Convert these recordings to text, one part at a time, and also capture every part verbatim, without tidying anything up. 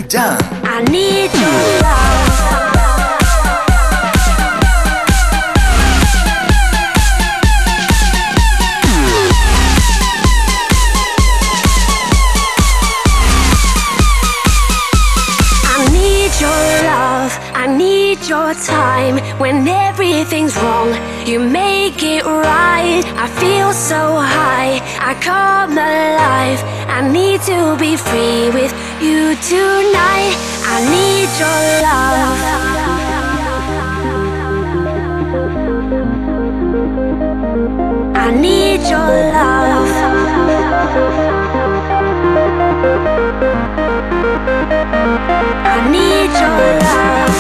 Jan. I need your love. I need your time when everything's wrong. You make it right. I feel so high. I come alive. I need to be free with you tonight. I need your love. I need your love. I need your love.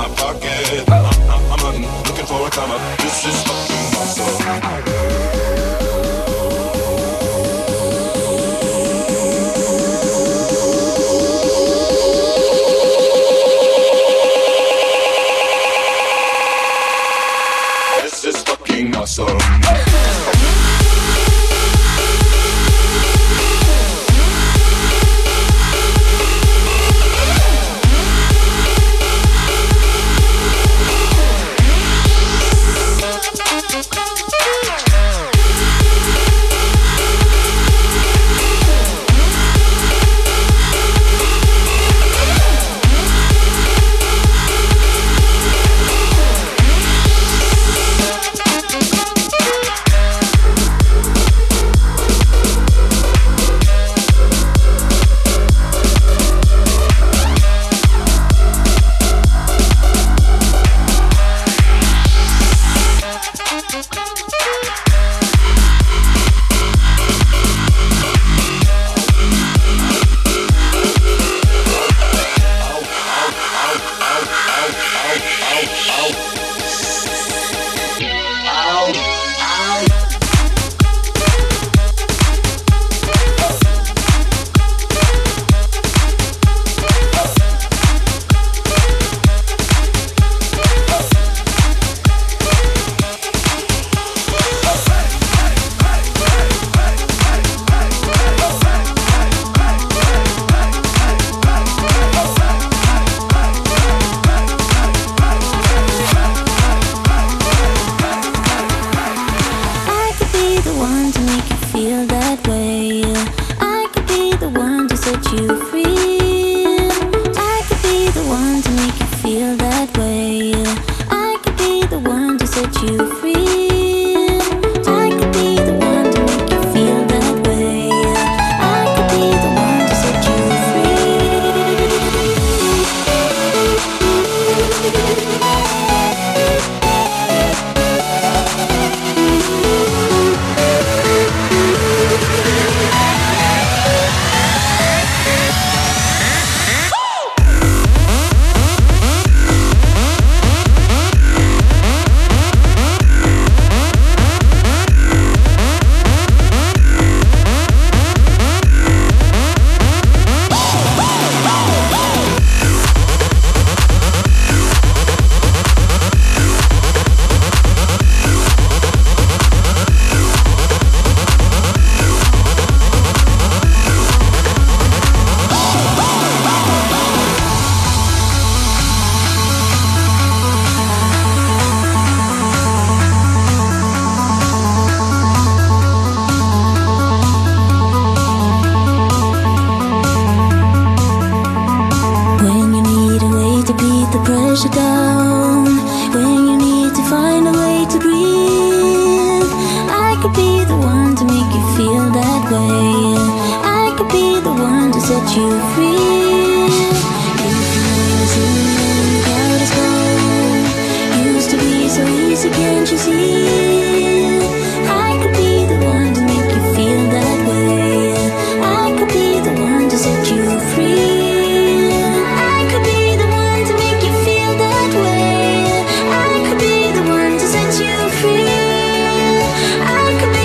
my pocket. I'm, I'm, I'm hunting, looking for a come up. This is fucking awesome. Awesome.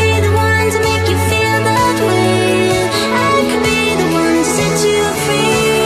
Free.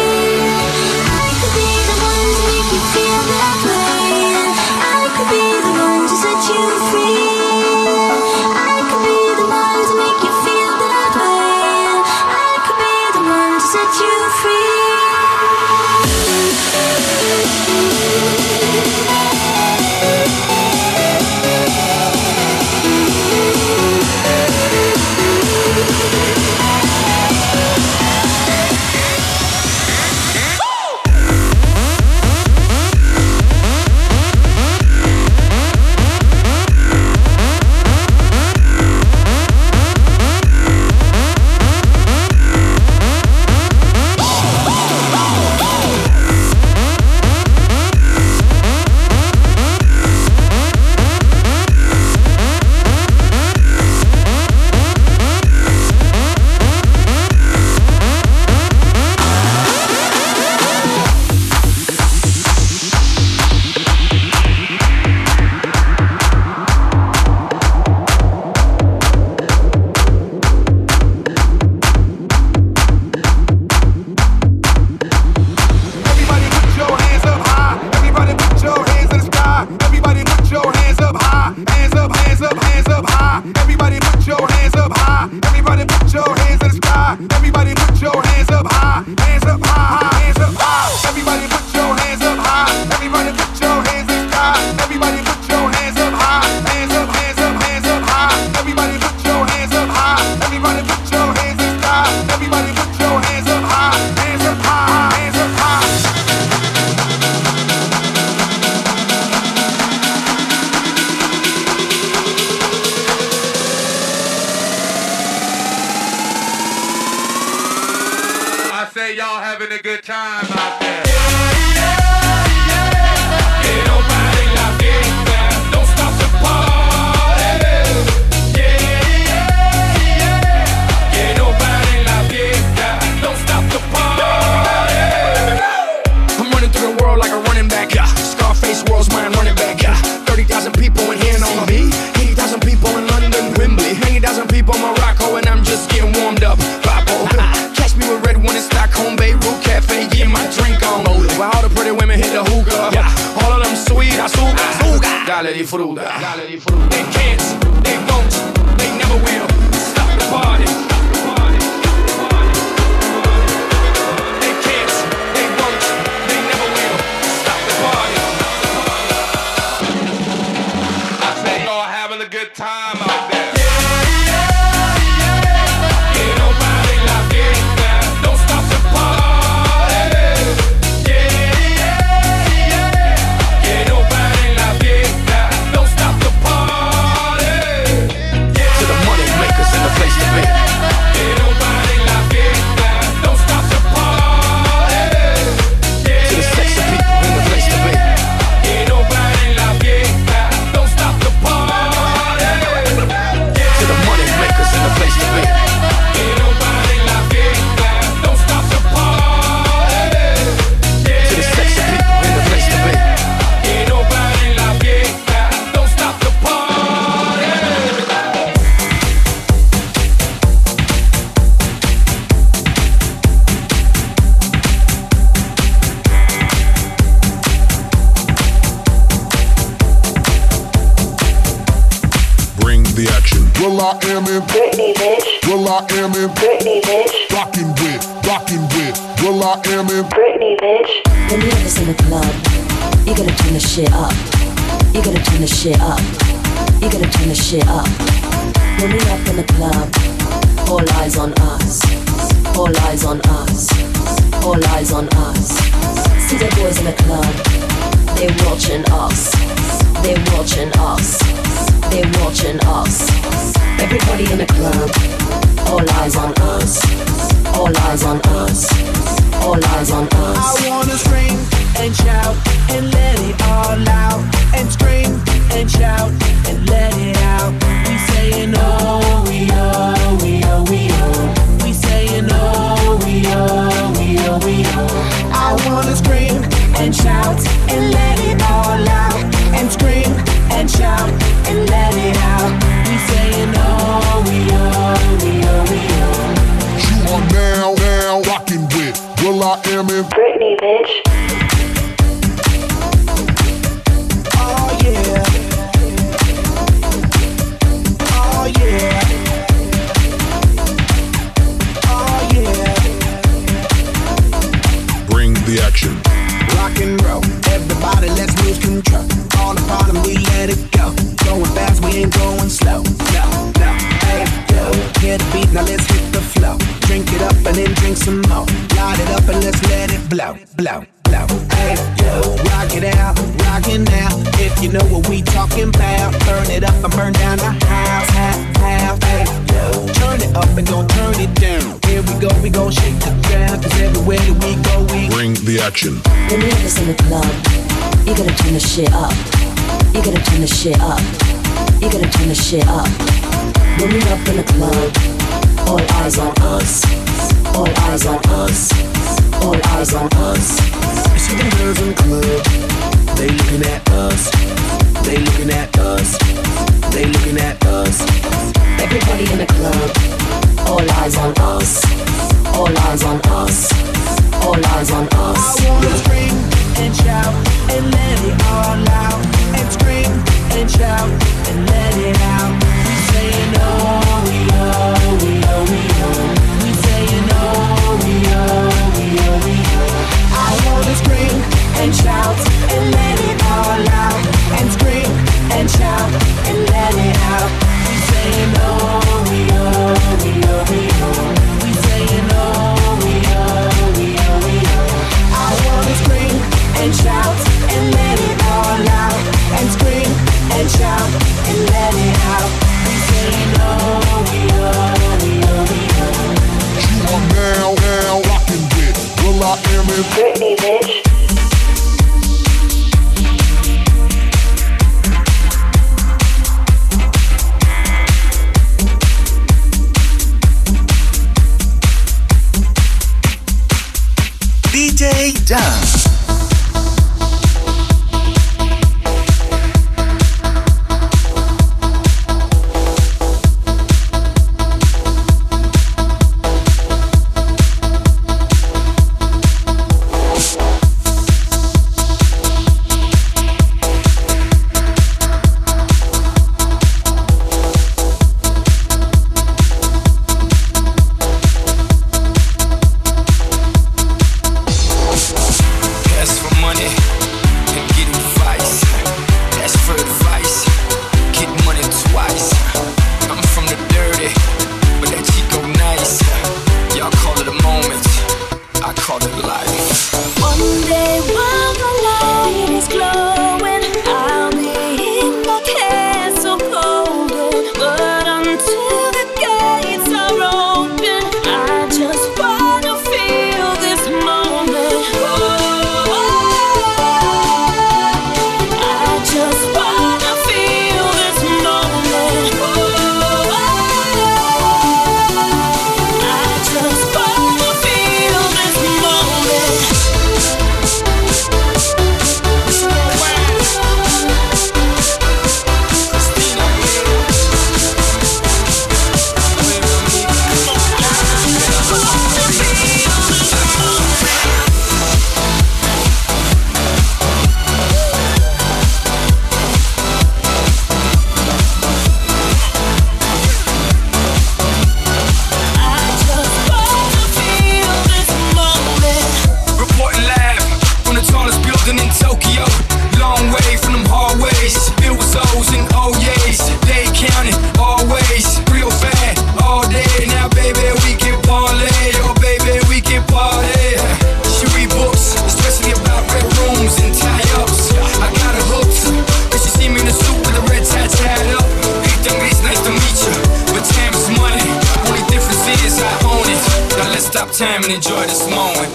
time out there. Que no pare la fiesta, don't stop the party. Que no pare la fiesta, don't stop the party. I'm running through the world like a running back. Scarface, world's mine, running back. thirty thousand people in here on me. eighty thousand people in London, Wembley. eighty thousand people in Morocco, and I'm just getting warmed up. Papo. Catch me with red one in Stockholm, Beirut Cafe, getting my drink on. While all the pretty women hit the hookah. Yeah. All of them sweet, azúcar, azúcar. Dale disfruta. Dale disfruta. They can't, they won't, they never will stop the party. They can't, they won't, they never will stop the party. I say y'all having a good time out there. Well, I am in Britney, bitch. Well, I am in Britney, bitch. Rockin' with, rockin' with. Well, I am in Britney, bitch. When you have this in the club, you gotta turn the shit up. You gotta turn the shit up. You gotta turn the shit up. When we up in the club, all eyes on us. All eyes on us. All eyes on us. See the boys in the club, they watching us. They watching us. They watching us. Everybody in the club, all eyes on us. All eyes on us. All eyes on us. I wanna scream and shout and let it all out. And scream and shout and let it out. We saying oh, we oh, we oh, we oh. We saying oh, we oh, we oh, we oh. I wanna scream and shout and let it all out. And scream and shout and let it out. We saying oh, we oh, we oh, we oh. You are now, now rockin' with. Well, I am in Britney, bitch. Oh yeah. Oh yeah. Oh yeah. Bring the action. Rock and roll, everybody let's lose control. All the bottom we let it go. Going fast, we ain't going slow. No, no, hey, yo. Hear the beat, now let's hit the flow. Drink it up and then drink some more. Light it up and let's let it blow, blow, blow. Hey, yo, rock it out, rock it now. If you know what we talking about, burn it up and burn down the house, half, half. Hey, yo, turn it up and don't turn it down. Here we go, we gon' shake the ground. Cause everywhere that we go, we bring the action. When you have this in the club, you gotta turn the shit up. You gotta turn the shit up. You gotta turn the shit up. When we up in the club, all eyes on us. All eyes on us. All eyes on us. You see them girls in the club, they looking at us. They looking at us. They looking at us. Everybody in the club, all eyes on us. All eyes on us. All eyes on us. I wanna scream and shout and let it all out. And scream and shout and let it out. We saying oh, we oh, we oh, we oh. We saying oh, we oh, we oh, we oh. I wanna scream and shout and let it all out. And scream and shout and let it out. We saying oh, we oh, we oh, we oh. We saying oh, we oh, we oh, we oh. I Britney, bitch. D J Dance. Time and enjoy this moment.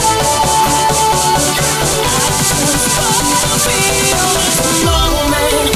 Moment.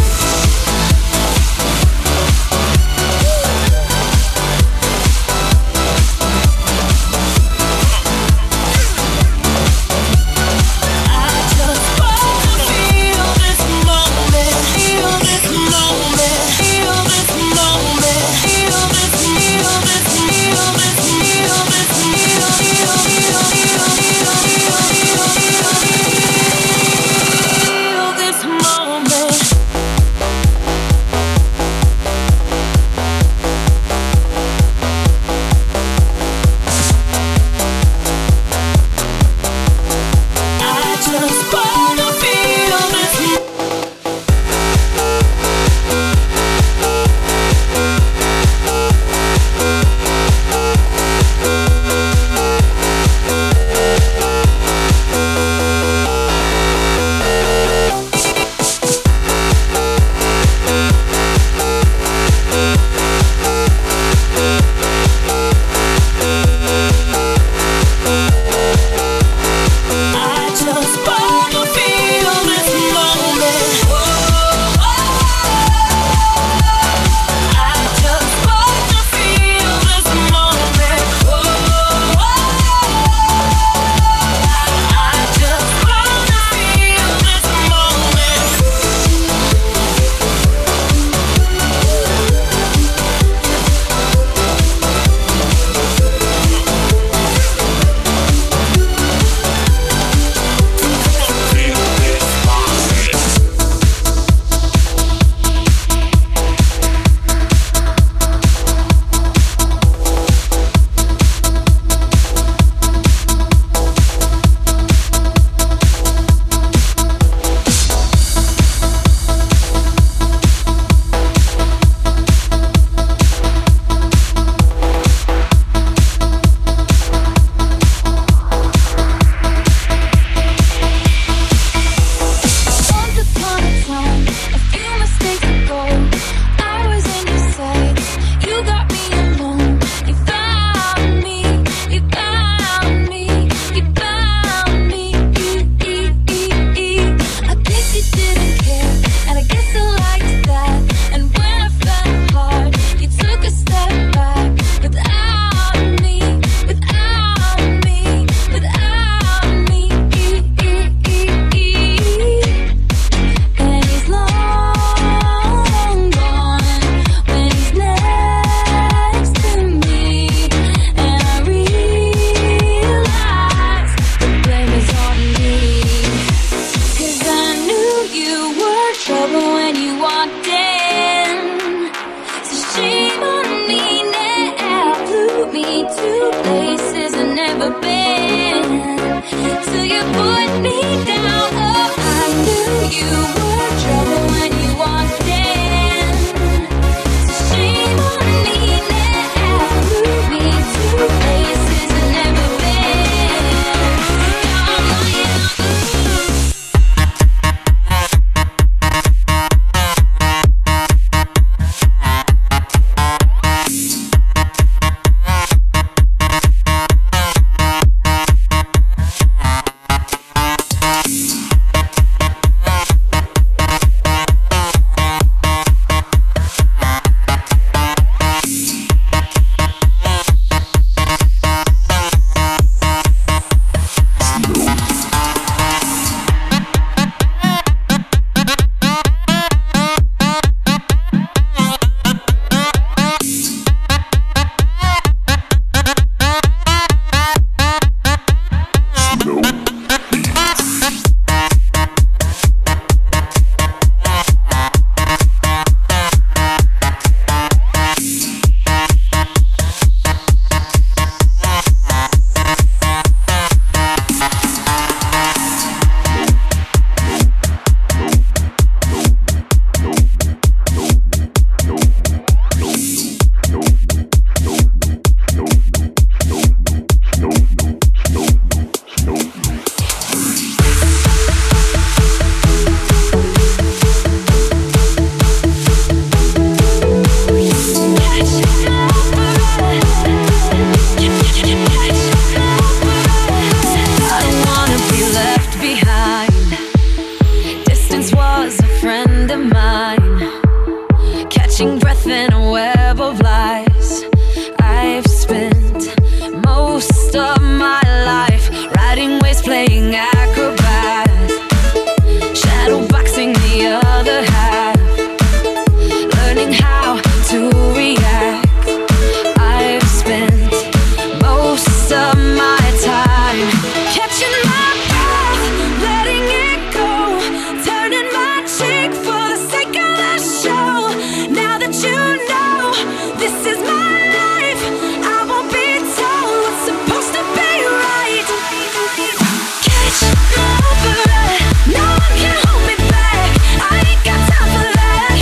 holding breath in a web of lies. I've spent most of my life riding waves, playing acrobat, shadow boxing the other half, learning how to react. I've spent most of my time catching my breath, letting it go, turning my cheek for the sake of the show. Now that you know this is my life, I won't be told what's supposed to be right. Catch my breath, no one can hold me back, I ain't got time for that.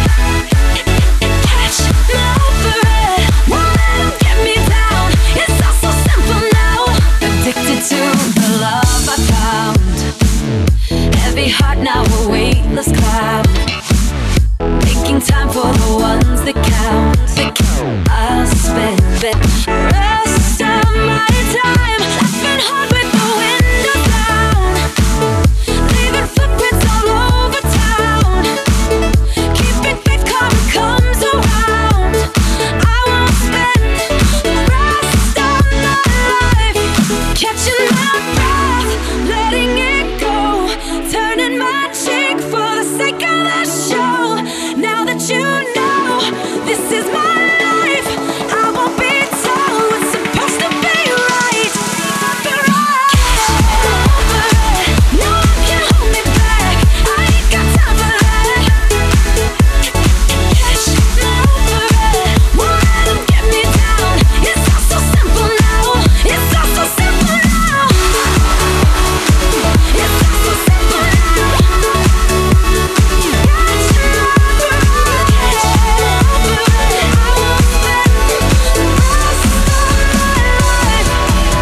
Catch my breath, won't let them get me down, it's all so simple now. Addicted to the love I found, heavy heart now a weightless cloud, making time for the ones that count. I'll spend the rest of my time laughing hard with the windows down, leaving footprints all over town, keeping faith karma comes around. I won't spend the rest of my life catching my breath, letting it go, turning my cheek for the sake of the show. Now that you know this is my life, I won't be told what's supposed to be right. No one can hold me back, I ain't got time for that. Catch my breath, won't let them get me down, it's all so simple now, it's all so simple now, it's all so simple now. Catch my breath, catch my breath, I won't spend the rest of my life.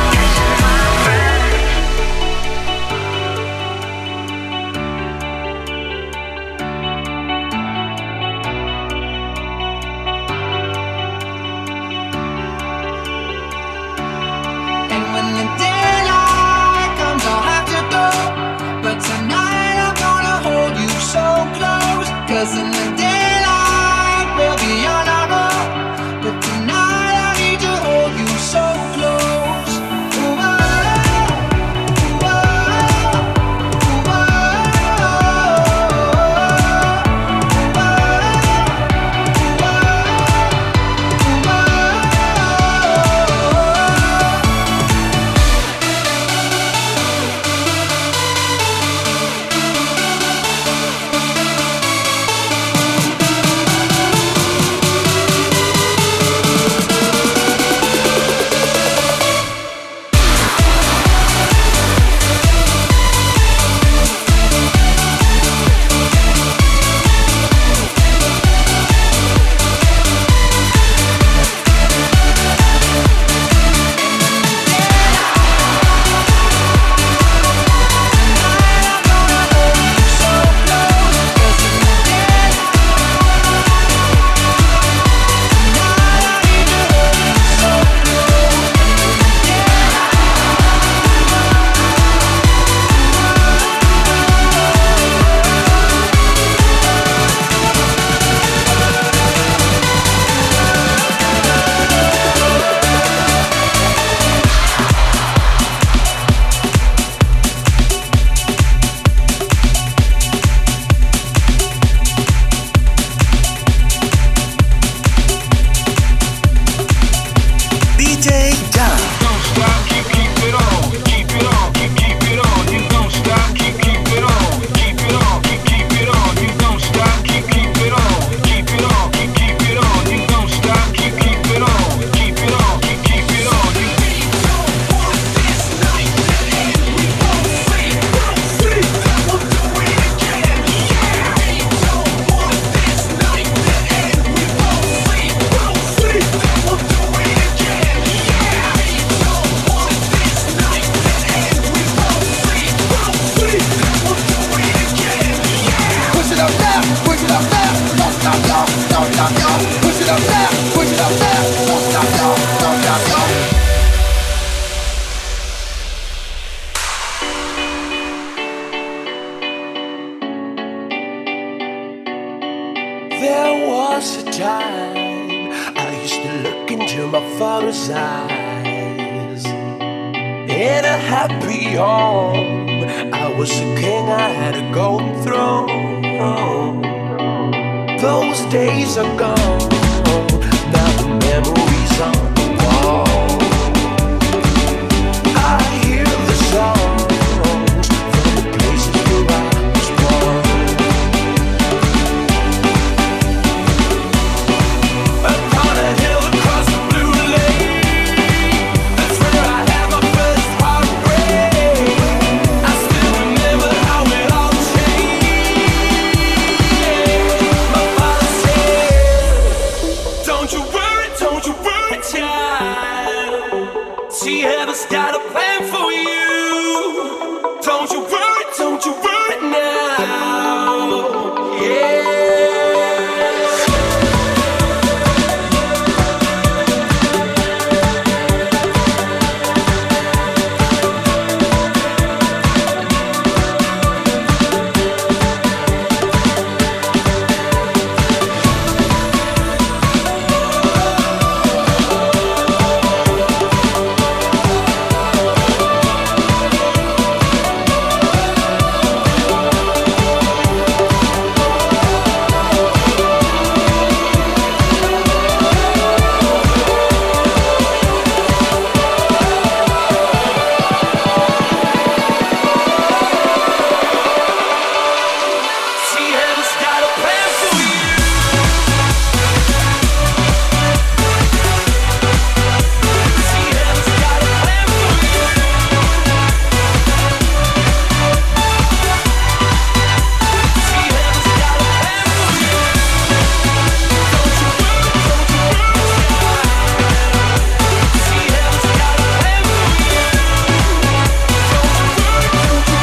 And when the daylight comes, I'll have to go. But tonight I'm gonna hold you so close. Cause in the daylight we'll be on our own. But tonight I need to hold you so close. Ooh, oh, ooh, oh, ooh, oh, ooh, oh, ooh, oh. time, I used to look into my father's eyes. In a happy home, I was a king, I had a golden throne. Those days are gone, now the memories on the wall. I hear the songs from the places where I was born. Upon a hill across the blue lake, that's where I had my first heartbreak. I still remember how it all changed. My father said, don't you worry, don't you worry, child. See, heaven's got a plan for you. Don't you worry, don't you worry now. Yeah. See, heaven's got a plan for you. See, heaven's got a plan for you. See, heaven's got a plan for you. Don't you worry, don't you worry, child. See, heaven's got a plan for you. Don't you worry, don't you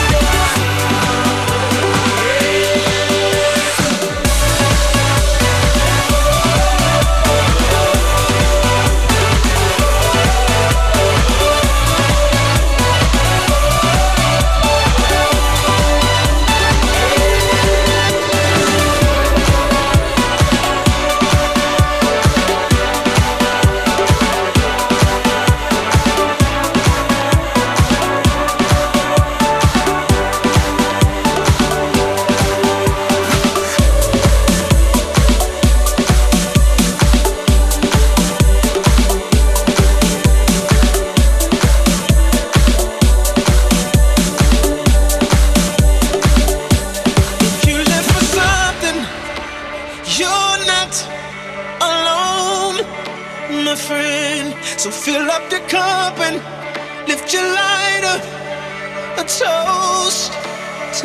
If you live for something, you're not alone, my friend. So fill up your cup and lift your lighter, a toast to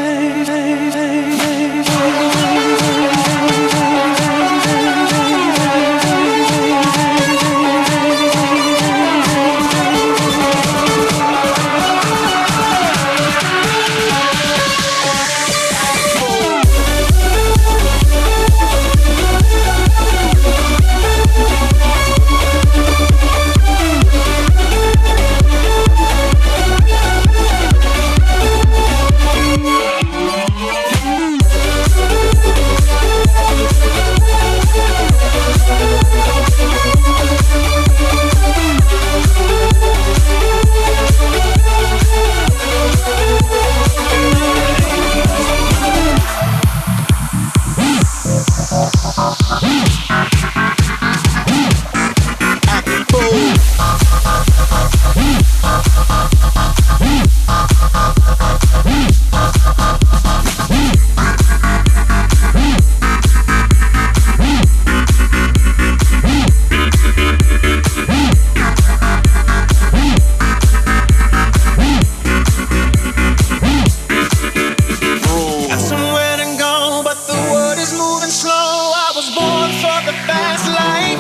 Got somewhere to go, but the world is moving slow. I was born for the fast life.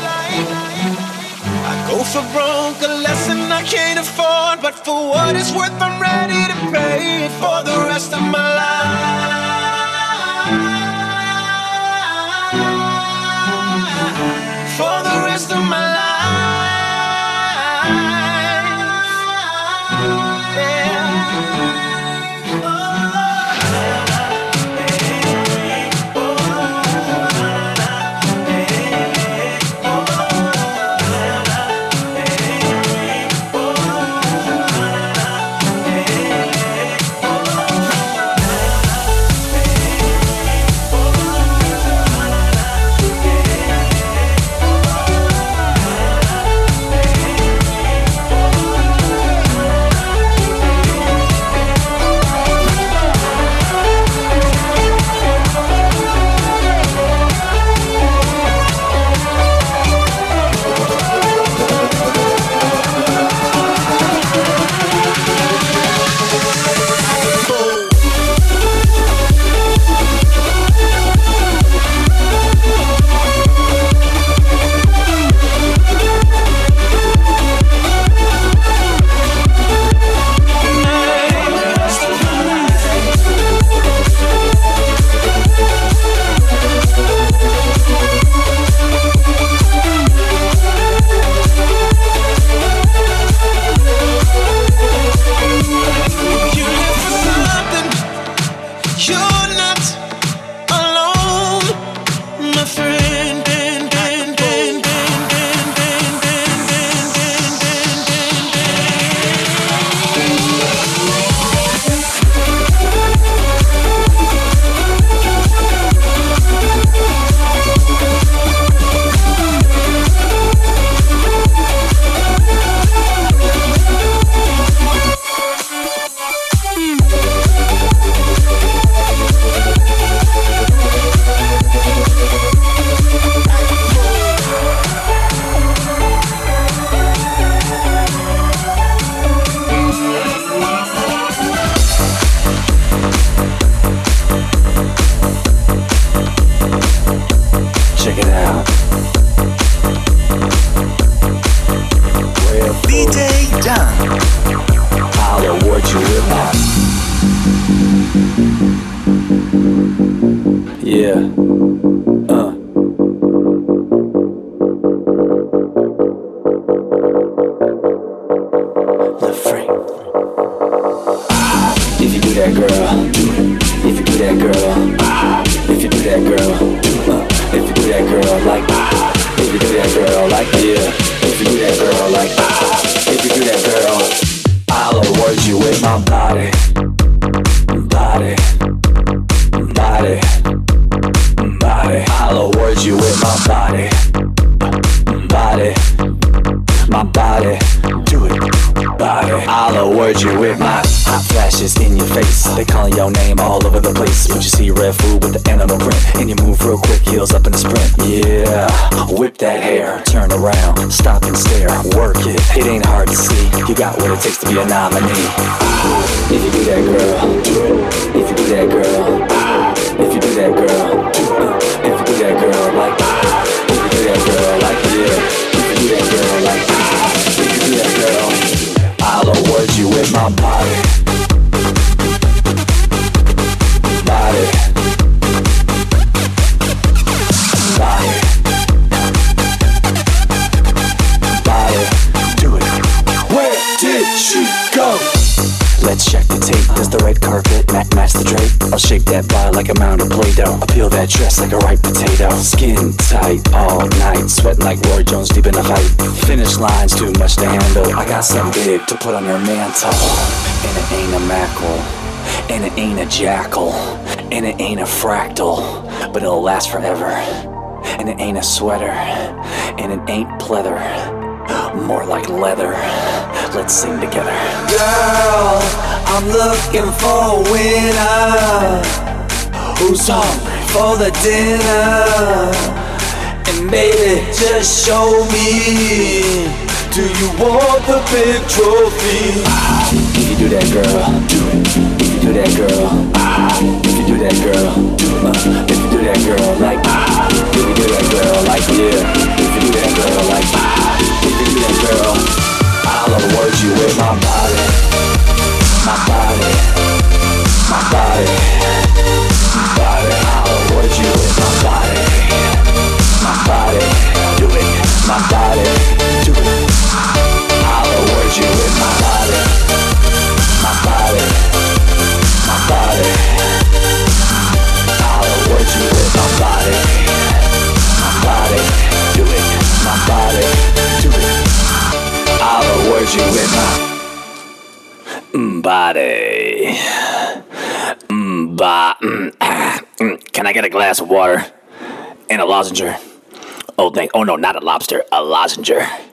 I go for broke, a lesson I can't afford, but for what it's worth, I'm ready to pay it for the rest of my life. For the rest of my life. Yeah. check it out. Real D J John. I'll award you with my. Yeah. Uh. The freak. If you do that, girl, do it. If you do that, girl, if you do that, girl, uh, if you do that, girl, like, if you do that, girl, like, yeah, if you do that, girl, like, if you do that, girl, I'll award you with my body, body, body, body. I'll award you with my body, body, my body, do it, body. I'll award you with my hot flashes in your face. They calling your name all over the place. But you see red food with the animal print, and you move real quick, heels up in the sprint. Yeah, whip that hair, turn around, stop and stare, work it. It ain't hard to see. You got what it takes to be a nominee. If you do that, girl, do it. If you do that, girl, if you do that, girl, do it. If you do that, girl, like, if you do that, girl, like, yeah. If you do that, girl, like, if you do that, girl, I'll award you with my body, body, body, body, do it. Where did she go? Let's check the tape. Does the red carpet ma- match the drape? I'll shake that body like a mound of Play-Doh. I'll peel that dress like a ripe potato. Skin tight all night, sweating like Roy Jones deep in a fight. Finish line's too much to handle. I got something big to put on your mantle. And it ain't a mackerel, and it ain't a jackal, and it ain't a fractal, but it'll last forever. And it ain't a sweater, and it ain't pleather, more like leather. Let's sing together. Girl, I'm looking for a winner who's hungry for the dinner. And baby, just show me, do you want the big trophy? If you do that, girl, do it. If you do that, girl, if you do that, girl, do it. Uh, if you do that, girl, like, if you do that, girl, like, yeah. If you do that, girl, like, if you do that, girl, I'll award you with my body, my body, my body, my body. I'll award you with my body, my body, do it, my body, do it. I'll award you with my body, my body, my body. I'll award you with my body, my body, do it, my body, do it. I'll award you with my mm, body, mm, ba, mm, ah, mm. Can I get a glass of water and a lozenge? Oh, thank. Oh no, not a lobster, a lozenge.